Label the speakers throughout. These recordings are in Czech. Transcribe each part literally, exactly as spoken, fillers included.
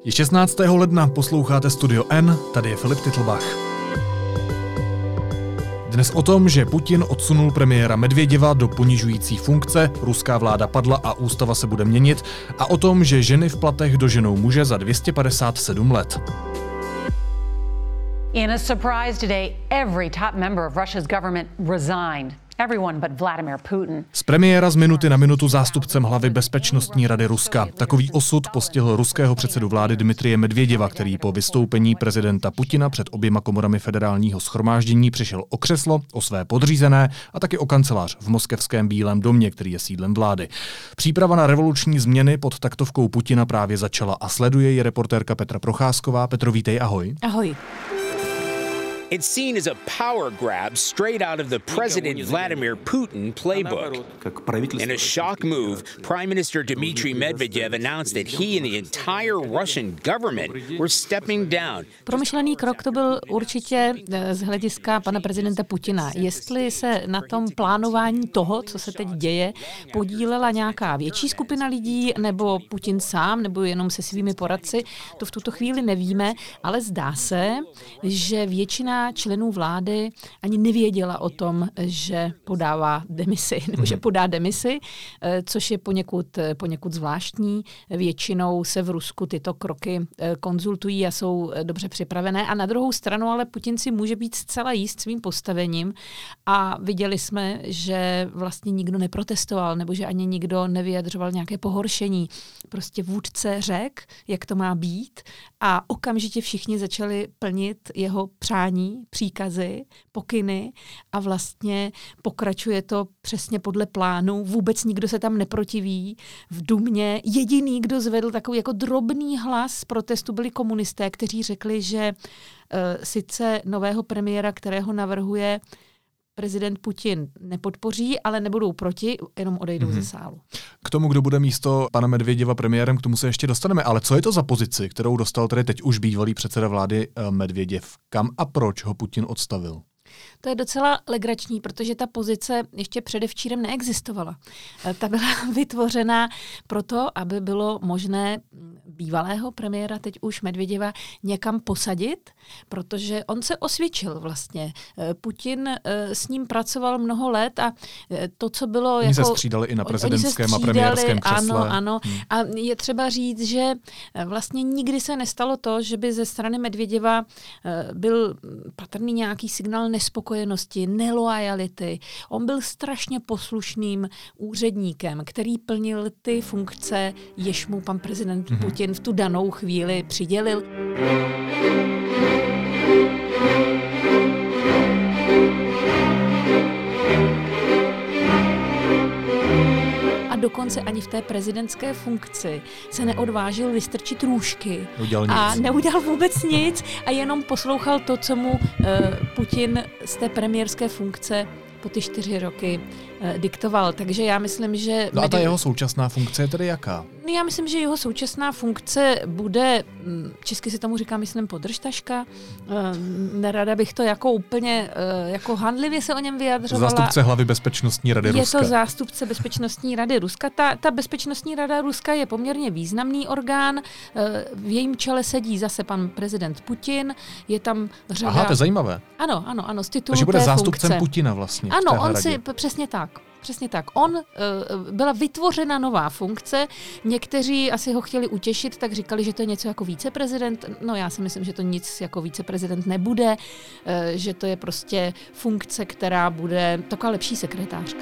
Speaker 1: Je šestnáctého ledna, posloucháte Studio N, tady je Filip Titlbach. Dnes o tom, že Putin odsunul premiéra Medvěděva do ponižující funkce, ruská vláda padla a ústava se bude měnit, a o tom, že ženy v platech doženou muže za dvě stě padesát sedm let.
Speaker 2: In a surprise today, every top member of Russia's government resigned. Everyone but Vladimir Putin.
Speaker 1: Z premiéra z minuty na minutu zástupcem hlavy Bezpečnostní rady Ruska. Takový osud postihl ruského předsedu vlády Dmitrije Medvěděva, který po vystoupení prezidenta Putina před oběma komorami federálního shromáždění přišel o křeslo, o své podřízené a taky o kancelář v moskevském Bílém domě, který je sídlem vlády. Příprava na revoluční změny pod taktovkou Putina právě začala a sleduje ji reportérka Petra Procházková. Petro, vítej, ahoj.
Speaker 3: Ahoj.
Speaker 4: It's seen as a power grab straight out of the President Vladimir Putin playbook. In a shock move, Prime Minister Dmitry Medvedev announced that he and the entire Russian government were stepping down.
Speaker 3: Promyšlený krok to byl určitě z hlediska pana prezidenta Putina. Jestli se na tom plánování toho, co se teď děje, podílela nějaká větší skupina lidí, nebo Putin sám, nebo jenom se svými poradci, to v tuto chvíli nevíme, ale zdá se, že většina členů vlády ani nevěděla o tom, že podává demisi, nebo že podá demisi, což je poněkud, poněkud zvláštní. Většinou se v Rusku tyto kroky konzultují a jsou dobře připravené. A na druhou stranu ale Putin si může být zcela jist svým postavením a viděli jsme, že vlastně nikdo neprotestoval, nebo že ani nikdo nevyjadřoval nějaké pohoršení. Prostě vůdce řekl, jak to má být, a okamžitě všichni začali plnit jeho přání, příkazy, pokyny a vlastně pokračuje to přesně podle plánu. Vůbec nikdo se tam neprotiví. V Dumě jediný, kdo zvedl takový jako drobný hlas protestu, byli komunisté, kteří řekli, že uh, sice nového premiéra, kterého navrhuje prezident Putin, nepodpoří, ale nebudou proti, jenom odejdou mm-hmm. ze sálu.
Speaker 1: K tomu, kdo bude místo pana Medvěděva premiérem, k tomu se ještě dostaneme. Ale co je to za pozici, kterou dostal tedy teď už bývalý předseda vlády Medvěděv? Kam a proč ho Putin odstavil?
Speaker 3: To je docela legrační, protože ta pozice ještě předevčírem neexistovala. Ta byla vytvořena proto, aby bylo možné bývalého premiéra, teď už Medvěděva, někam posadit, protože on se osvědčil vlastně. Putin s ním pracoval mnoho let a to, co bylo...
Speaker 1: Oni
Speaker 3: jako,
Speaker 1: se střídali i na prezidentském a premiérském křesle.
Speaker 3: Ano, ano. Hmm. A je třeba říct, že vlastně nikdy se nestalo to, že by ze strany Medvěděva byl patrný nějaký signál nespokojenosti, neloajality. On byl strašně poslušným úředníkem, který plnil ty funkce, jež mu pan prezident mm-hmm. Putin v tu danou chvíli přidělil. A dokonce ani v té prezidentské funkci se neodvážil vystrčit růžky. A neudělal vůbec nic a jenom poslouchal to, co mu uh, Putin z té premiérské funkce po ty čtyři roky uh, diktoval. Takže já myslím, že...
Speaker 1: No a ta jeho současná funkce je tedy jaká?
Speaker 3: No já myslím, že jeho současná funkce bude, česky se tomu říká, myslím, podržtaška. Nerada bych to jako úplně, jako handlivě se o něm vyjadřovala.
Speaker 1: Zástupce hlavy Bezpečnostní rady
Speaker 3: je
Speaker 1: Ruska.
Speaker 3: Je to zástupce Bezpečnostní rady Ruska. Ta, ta Bezpečnostní rada Ruska je poměrně významný orgán. V jejím čele sedí zase pan prezident Putin. Je tam řada...
Speaker 1: Aha, to je zajímavé.
Speaker 3: Ano, ano, ano, z titulu
Speaker 1: Takže bude
Speaker 3: té
Speaker 1: zástupcem
Speaker 3: funkce.
Speaker 1: Putina vlastně.
Speaker 3: Ano, on si, přesně tak. Přesně tak. On, uh, byla vytvořena nová funkce, někteří asi ho chtěli utěšit, tak říkali, že to je něco jako víceprezident. No já si myslím, že to nic jako víceprezident nebude, uh, že to je prostě funkce, která bude taková lepší sekretářka.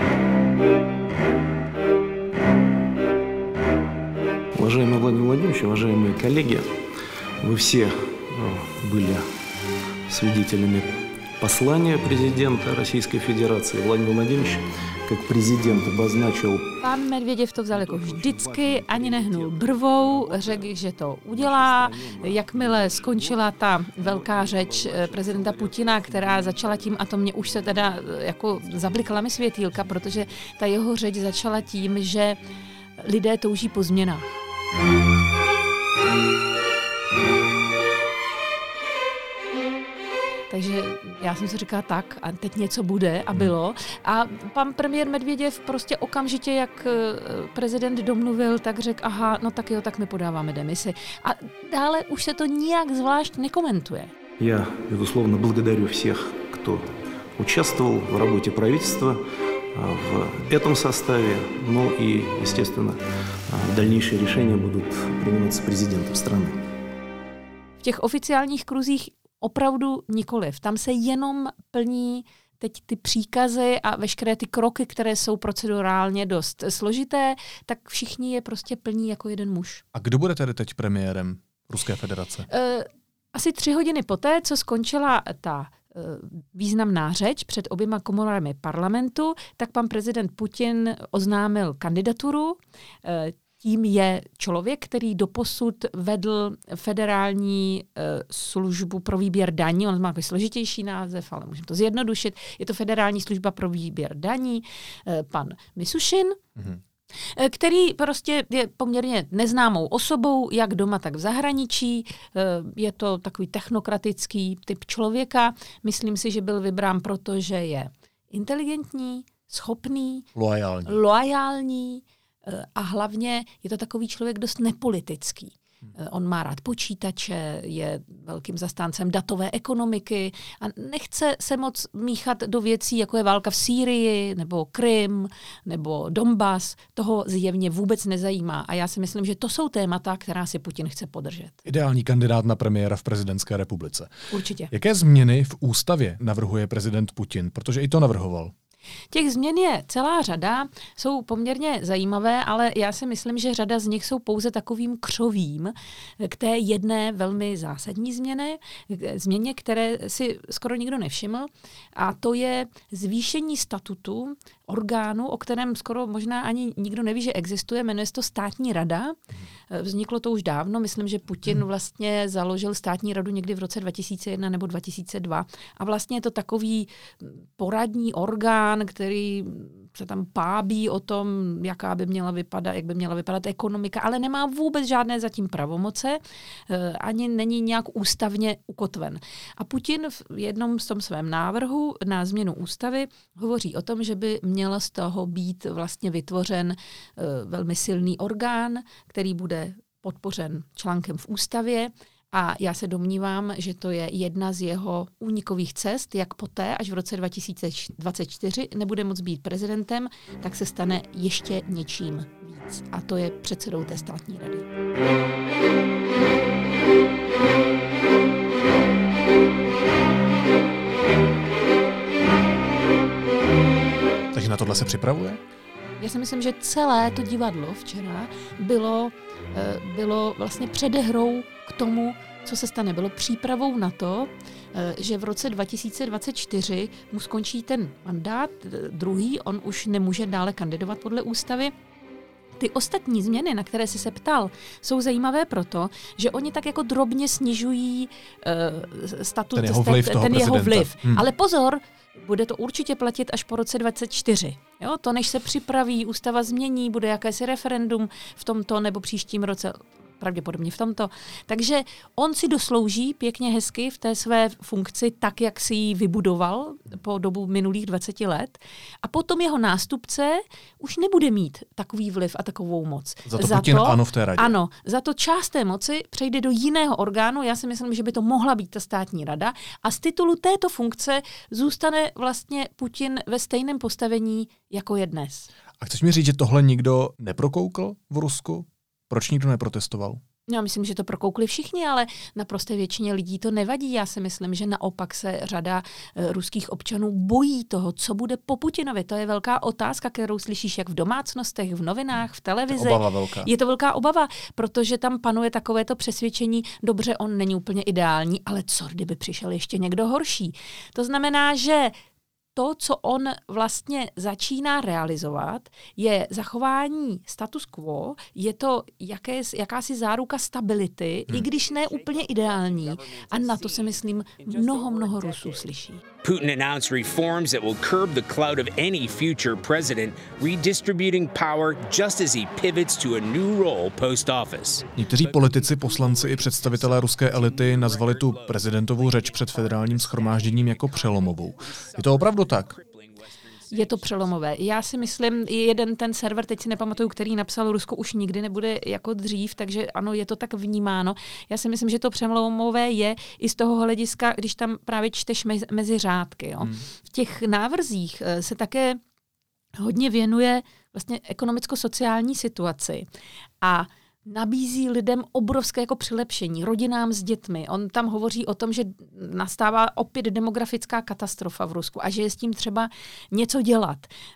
Speaker 5: Уважаемый Владимир Владимирович, уважаемые коллеги, вы все были свидетелями послание президента Российской Федерации Владимира Владимировича, как президент обозначил...
Speaker 3: Pan Medvěděv to vzal jako vždycky, ani nehnul brvou, řekl, že to udělá. Jakmile skončila ta velká řeč prezidenta Putina, která začala tím, a to mě už se teda jako zablikala mi světýlka, protože ta jeho řeč začala tím, že lidé touží po změnách. Takže já já jsem si říkala tak a teď něco bude a bylo. A pan premiér Medvěděv prostě okamžitě, jak prezident domluvil, tak řekl, aha, no tak jo, tak my podáváme demisi. A dále už se to nijak zvlášť nekomentuje.
Speaker 5: Já, безусловно, благодарю всех, кто участвовал в работе правительства в этом составе, ну и, естественно, дальнейшие решения будут приниматься президентом страны.
Speaker 3: V těch oficiálních kruzích opravdu nikoliv. Tam se jenom plní teď ty příkazy a veškeré ty kroky, které jsou procedurálně dost složité, tak všichni je prostě plní jako jeden muž.
Speaker 1: A kdo bude tedy teď premiérem Ruské federace?
Speaker 3: Uh, asi tři hodiny poté, co skončila ta významná řeč před oběma komorami parlamentu, tak pan prezident Putin oznámil kandidaturu. Tím je člověk, který doposud vedl federální službu pro výběr daní. On má takový složitější název, ale můžeme to zjednodušit. Je to federální služba pro výběr daní. Pan Mishustin, mm-hmm. který prostě je poměrně neznámou osobou, jak doma, tak v zahraničí. Je to takový technokratický typ člověka. Myslím si, že byl vybrán proto, že je inteligentní, schopný,
Speaker 1: loajální.
Speaker 3: loajální a hlavně je to takový člověk dost nepolitický. On má rád počítače, je velkým zastáncem datové ekonomiky a nechce se moc míchat do věcí, jako je válka v Sýrii, nebo Krym, nebo Donbas. Toho zjevně vůbec nezajímá. A já si myslím, že to jsou témata, která si Putin chce podržet.
Speaker 1: Ideální kandidát na premiéra v prezidentské republice.
Speaker 3: Určitě.
Speaker 1: Jaké změny v ústavě navrhuje prezident Putin? Protože i to navrhoval.
Speaker 3: Těch změn je celá řada, jsou poměrně zajímavé, ale já si myslím, že řada z nich jsou pouze takovým křovím k té jedné velmi zásadní změně, změně, které si skoro nikdo nevšiml, a to je zvýšení statutu orgánu, o kterém skoro možná ani nikdo neví, že existuje, jmenuje se to Státní rada. Vzniklo to už dávno, myslím, že Putin vlastně založil Státní radu někdy v roce dva tisíce jedna nebo dva tisíce dva a vlastně je to takový poradní orgán, který se tam pábí o tom, jaká by měla vypadat, jak by měla vypadat ekonomika, ale nemá vůbec žádné zatím pravomoce, ani není nějak ústavně ukotven. A Putin v jednom z tom svém návrhu na změnu ústavy hovoří o tom, že by měl z toho být vlastně vytvořen velmi silný orgán, který bude podpořen článkem v ústavě. A já se domnívám, že to je jedna z jeho únikových cest, jak poté, až v roce dva tisíce dvacet čtyři nebude moct být prezidentem, tak se stane ještě něčím víc. A to je předsedou té Státní rady.
Speaker 1: Takže na tohle se připravuje?
Speaker 3: Já si myslím, že celé to divadlo včera bylo, bylo vlastně předehrou k tomu, co se stane. Bylo přípravou na to, že v roce dva tisíce dvacet čtyři mu skončí ten mandát, druhý, on už nemůže dále kandidovat podle ústavy. Ty ostatní změny, na které jsi se ptal, jsou zajímavé proto, že oni tak jako drobně snižují uh, statut,
Speaker 1: ten jeho vliv.
Speaker 3: Ten jeho vliv.
Speaker 1: Hmm.
Speaker 3: Ale pozor, bude to určitě platit až po roce dvacet čtyři. Jo? To, než se připraví, ústava změní, bude jakési referendum v tomto nebo příštím roce, pravděpodobně v tomto. Takže on si doslouží pěkně hezky v té své funkci tak, jak si ji vybudoval po dobu minulých dvacet let. A potom jeho nástupce už nebude mít takový vliv a takovou moc.
Speaker 1: Za to za Putin to, ano v té radě.
Speaker 3: Ano, za to část té moci přejde do jiného orgánu. Já si myslím, že by to mohla být ta Státní rada. A z titulu této funkce zůstane vlastně Putin ve stejném postavení, jako je dnes.
Speaker 1: A chceš mi říct, že tohle nikdo neprokoukl v Rusku? Proč nikdo neprotestoval?
Speaker 3: Já myslím, že to prokoukli všichni, ale naprosté většině lidí to nevadí. Já si myslím, že naopak se řada e, ruských občanů bojí toho, co bude po Putinovi. To je velká otázka, kterou slyšíš jak v domácnostech, v novinách, v televizi.
Speaker 1: To obava velká.
Speaker 3: Je to velká obava, protože tam panuje takovéto přesvědčení, dobře, on není úplně ideální, ale co kdyby přišel ještě někdo horší. To znamená, že to, co on vlastně začíná realizovat, je zachování status quo, je to jaké, jakási záruka stability, hmm. i když ne úplně ideální. A na to se, myslím, mnoho, mnoho Rusů slyší.
Speaker 4: Putin announced reforms that will curb the clout of any future president, redistributing power just as he pivots to a new role post-office.
Speaker 1: Někteří politici, poslanci i představitelé ruské elity nazvali tu prezidentovou řeč před federálním shromážděním jako přelomovou. Je to opravdu tak?
Speaker 3: Je to přelomové. Já si myslím, jeden ten server, teď si nepamatuju, který napsal, Rusko už nikdy nebude jako dřív, takže ano, je to tak vnímáno. Já si myslím, že to přelomové je i z toho hlediska, když tam právě čteš mezi, mezi řádky. Jo. Hmm. V těch návrzích se také hodně věnuje vlastně ekonomicko-sociální situaci a nabízí lidem obrovské jako přilepšení, rodinám s dětmi. On tam hovoří o tom, že nastává opět demografická katastrofa v Rusku a že je s tím třeba něco dělat.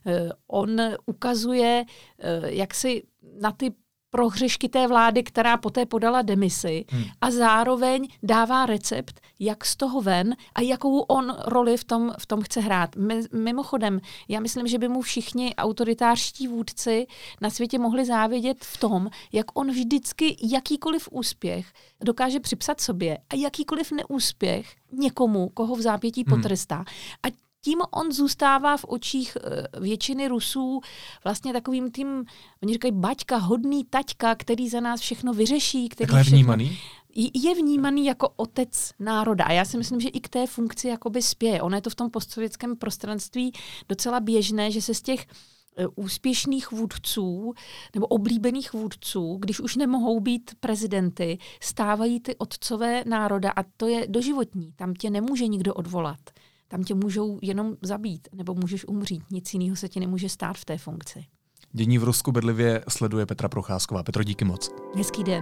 Speaker 3: On ukazuje, jak si na ty prohřešky té vlády, která poté podala demisi hmm. a zároveň dává recept, jak z toho ven a jakou on roli v tom, v tom chce hrát. Mimochodem, já myslím, že by mu všichni autoritářští vůdci na světě mohli závidět v tom, jak on vždycky jakýkoliv úspěch dokáže připsat sobě a jakýkoliv neúspěch někomu, koho v zápětí hmm. potrestá. A tím on zůstává v očích většiny Rusů vlastně takovým tím, oni říkají baťka, hodný taťka, který za nás všechno vyřeší. Který
Speaker 1: Takhle
Speaker 3: všechno,
Speaker 1: vnímaný?
Speaker 3: Je vnímaný jako otec národa. A já si myslím, že i k té funkci jakoby spěje. Ono je to v tom postsovětském prostranství docela běžné, že se z těch úspěšných vůdců nebo oblíbených vůdců, když už nemohou být prezidenty, stávají ty otcové národa a to je doživotní. Tam tě nemůže nikdo odvolat. Tam tě můžou jenom zabít, nebo můžeš umřít. Nic jiného se ti nemůže stát v té funkci.
Speaker 1: Dění v Rusku bedlivě sleduje Petra Procházková. Petro, díky moc.
Speaker 3: Hezký den.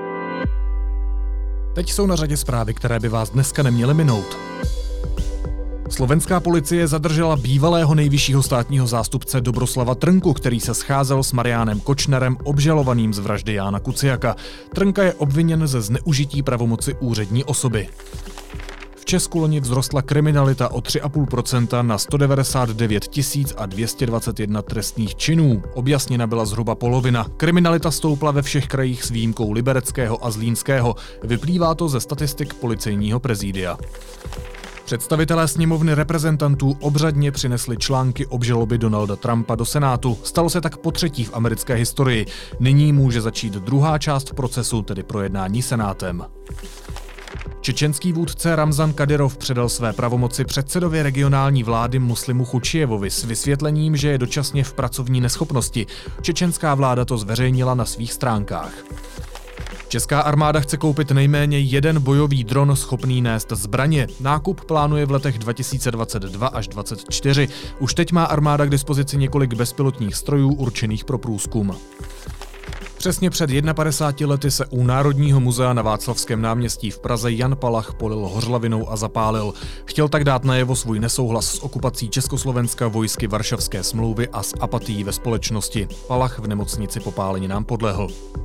Speaker 1: Teď jsou na řadě zprávy, které by vás dneska neměly minout. Slovenská policie zadržela bývalého nejvyššího státního zástupce Dobroslava Trnku, který se scházel s Mariánem Kočnerem, obžalovaným z vraždy Jána Kuciaka. Trnka je obviněn ze zneužití pravomoci úřední osoby. V Česku loni vzrostla kriminalita o tři celá pět procenta na sto devadesát devět tisíc dvě stě dvacet jedna trestných činů. Objasněna byla zhruba polovina. Kriminalita stoupla ve všech krajích s výjimkou Libereckého a Zlínského. Vyplývá to ze statistik policejního prezídia. Představitelé sněmovny reprezentantů obřadně přinesli články obžaloby Donalda Trumpa do Senátu. Stalo se tak potřetí v americké historii. Nyní může začít druhá část procesu, tedy projednání Senátem. Čečenský vůdce Ramzan Kadyrov předal své pravomoci předsedovi regionální vlády Muslimu Chučijevovi s vysvětlením, že je dočasně v pracovní neschopnosti. Čečenská vláda to zveřejnila na svých stránkách. Česká armáda chce koupit nejméně jeden bojový dron schopný nést zbraně. Nákup plánuje v letech dva tisíce dvacet dva až dvacet čtyři. Už teď má armáda k dispozici několik bezpilotních strojů určených pro průzkum. Přesně před padesátimi jedna lety se u Národního muzea na Václavském náměstí v Praze Jan Palach polil hořlavinou a zapálil. Chtěl tak dát najevo svůj nesouhlas s okupací Československa vojsky Varšavské smlouvy a s apatií ve společnosti. Palach v nemocnici popáleninám podlehl.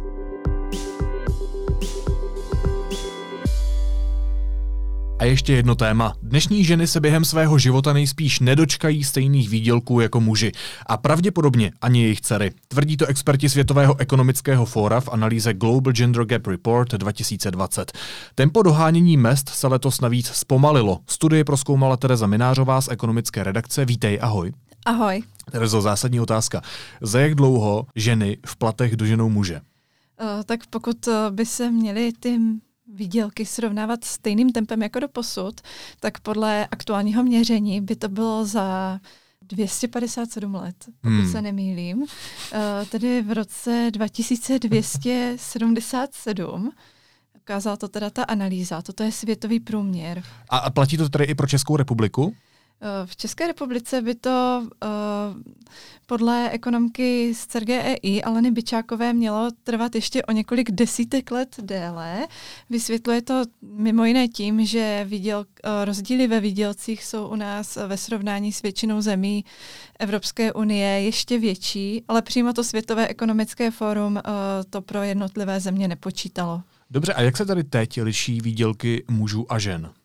Speaker 1: A ještě jedno téma. Dnešní ženy se během svého života nejspíš nedočkají stejných výdělků jako muži. A pravděpodobně ani jejich dcery. Tvrdí to experti Světového ekonomického fóra v analýze Global Gender Gap Report dva tisíce dvacet. Tempo dohánění mezd se letos navíc zpomalilo. Studii prozkoumala Tereza Minářová z ekonomické redakce. Vítej, ahoj.
Speaker 6: Ahoj.
Speaker 1: Terezo, zásadní otázka. Za jak dlouho ženy v platech doženou muže?
Speaker 6: Uh, tak pokud by se měly ty výdělky srovnávat stejným tempem jako do posud, tak podle aktuálního měření by to bylo za dvě stě padesát sedm let, pokud hmm. se nemýlím. Uh, tedy v roce dva tisíce dvě stě sedmdesát sedm ukázala to teda ta analýza, toto je světový průměr.
Speaker 1: A, a platí to tedy i pro Českou republiku?
Speaker 6: V České republice by to uh, podle ekonomky z C R G E I Aleny Byčákové mělo trvat ještě o několik desítek let déle. Vysvětluje to mimo jiné tím, že výděl, uh, rozdíly ve výdělcích jsou u nás ve srovnání s většinou zemí Evropské unie ještě větší, ale přímo to Světové ekonomické fórum uh, to pro jednotlivé země nepočítalo.
Speaker 1: Dobře, a jak se tady teď liší výdělky mužů a žen?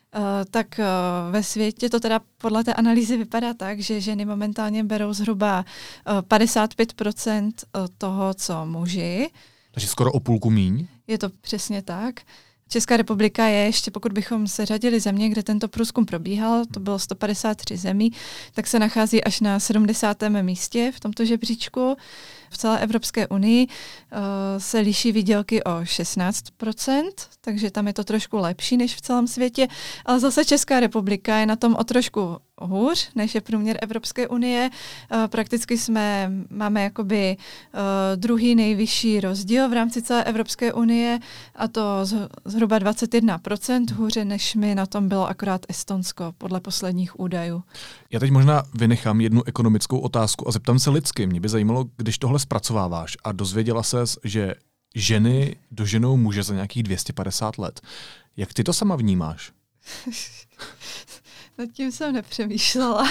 Speaker 6: tak ve světě to teda podle té analýzy vypadá tak, že ženy momentálně berou zhruba padesát pět procent toho, co muži.
Speaker 1: Takže skoro o půlku míň?
Speaker 6: Je to přesně tak. Česká republika je ještě, pokud bychom seřadili země, kde tento průzkum probíhal, to bylo sto padesát tři zemí, tak se nachází až na sedmdesátém místě v tomto žebříčku. V celé Evropské unii uh, se liší výdělky o šestnáct procent, takže tam je to trošku lepší než v celém světě, ale zase Česká republika je na tom o trošku hůř, než je průměr Evropské unie. Uh, prakticky jsme, máme jakoby uh, druhý nejvyšší rozdíl v rámci celé Evropské unie a to z, zhruba dvacet jedna procent hůře, než mi na tom bylo akorát Estonsko, podle posledních údajů.
Speaker 1: Já teď možná vynechám jednu ekonomickou otázku a zeptám se lidsky. Mě by zajímalo, když tohle zpracováváš a dozvěděla ses, že ženy doženou muže za nějakých dvě stě padesát let. Jak ty to sama vnímáš?
Speaker 6: Nad tím jsem nepřemýšlela.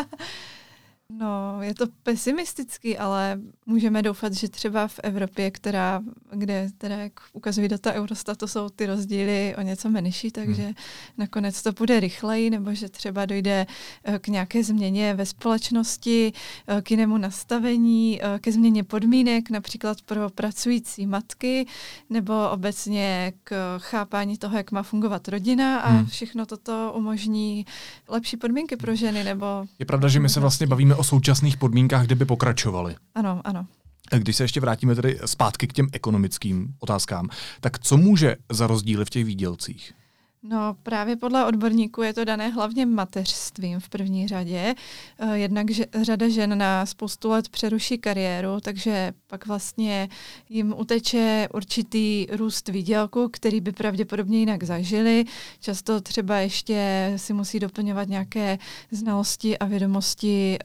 Speaker 6: No, je to pesimistický, ale můžeme doufat, že třeba v Evropě, která, kde teda, jak ukazují data Eurostatu, jsou ty rozdíly o něco menší, takže hmm. nakonec to bude rychleji, nebo že třeba dojde k nějaké změně ve společnosti, k jinému nastavení, ke změně podmínek, například pro pracující matky, nebo obecně k chápání toho, jak má fungovat rodina a hmm. všechno toto umožní lepší podmínky pro ženy. Nebo
Speaker 1: je pravda, že my se vlastně bavíme o současných podmínkách, kde by pokračovaly.
Speaker 6: Ano, ano.
Speaker 1: Když se ještě vrátíme tedy zpátky k těm ekonomickým otázkám, tak co může za rozdíly v těch výdělcích?
Speaker 6: No právě podle odborníků je to dané hlavně mateřstvím v první řadě. Jednak že řada žen na spoustu let přeruší kariéru, takže pak vlastně jim uteče určitý růst výdělku, který by pravděpodobně jinak zažili. Často třeba ještě si musí doplňovat nějaké znalosti a vědomosti,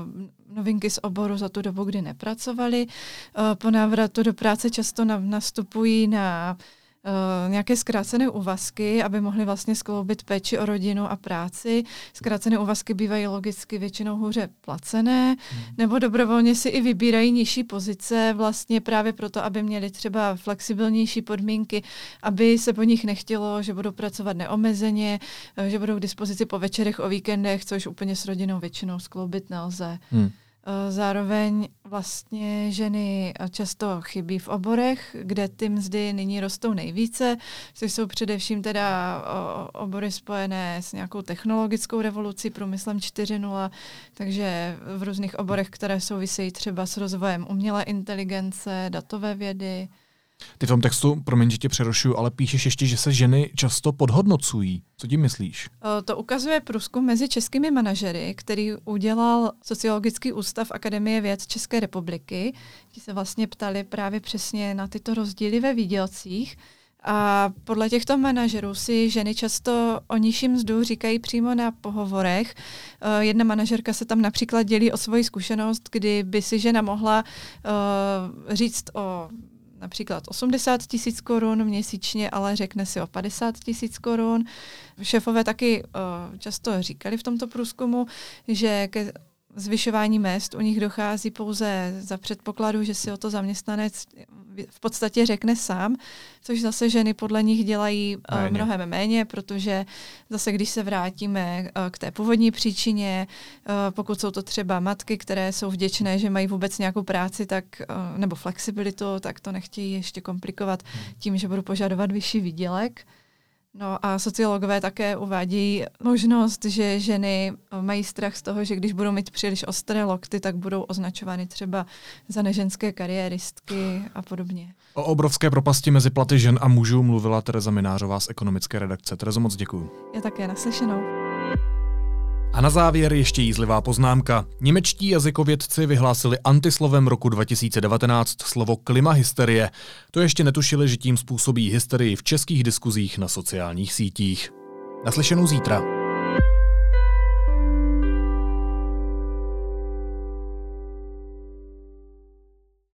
Speaker 6: novinky z oboru za tu dobu, kdy nepracovali. Po návratu do práce často nastupují na Uh, nějaké zkrácené úvazky, aby mohli vlastně skloubit péči o rodinu a práci. Zkrácené úvazky bývají logicky většinou hůře placené, hmm. nebo dobrovolně si i vybírají nižší pozice vlastně právě proto, aby měli třeba flexibilnější podmínky, aby se po nich nechtělo, že budou pracovat neomezeně, že budou k dispozici po večerech, o víkendech, což úplně s rodinou většinou skloubit nelze. Hmm. Zároveň vlastně ženy často chybí v oborech, kde ty mzdy nyní rostou nejvíce, což jsou především teda obory spojené s nějakou technologickou revolucí, průmyslem čtyři tečka nula, takže v různých oborech, které souvisejí třeba s rozvojem umělé inteligence, datové vědy.
Speaker 1: Ty v tom textu, promiň, že tě přerušuju, ale píšeš ještě, že se ženy často podhodnocují. Co tím myslíš?
Speaker 6: To ukazuje průzkum mezi českými manažery, který udělal Sociologický ústav Akademie věd České republiky. Ti se vlastně ptali právě přesně na tyto rozdíly ve výdělcích. A podle těchto manažerů si ženy často o nižší mzdu říkají přímo na pohovorech. Jedna manažerka se tam například dělí o svoji zkušenost, kdy by si žena mohla uh, říct o například osmdesát tisíc korun měsíčně, ale řekne si o padesát tisíc korun. Šéfové taky uh, často říkali v tomto průzkumu, že ke zvyšování mezd u nich dochází pouze za předpokladu, že si o to zaměstnanec v podstatě řekne sám, což zase ženy podle nich dělají méně. mnohem méně, protože zase když se vrátíme k té původní příčině, pokud jsou to třeba matky, které jsou vděčné, že mají vůbec nějakou práci tak, nebo flexibilitu, tak to nechtějí ještě komplikovat tím, že budou požadovat vyšší výdělek. No a sociologové také uvádějí možnost, že ženy mají strach z toho, že když budou mít příliš ostré lokty, tak budou označovány třeba za neženské kariéristky a podobně.
Speaker 1: O obrovské propasti mezi platy žen a mužů mluvila Tereza Minářová z ekonomické redakce. Terezo, moc děkuju.
Speaker 6: Já také, naslyšenou.
Speaker 1: A na závěr ještě jízlivá poznámka. Němečtí jazykovědci vyhlásili antislovem roku dva tisíce devatenáct slovo klimahysterie. To ještě netušili, že tím způsobí hysterii v českých diskuzích na sociálních sítích. Naslyšenou zítra.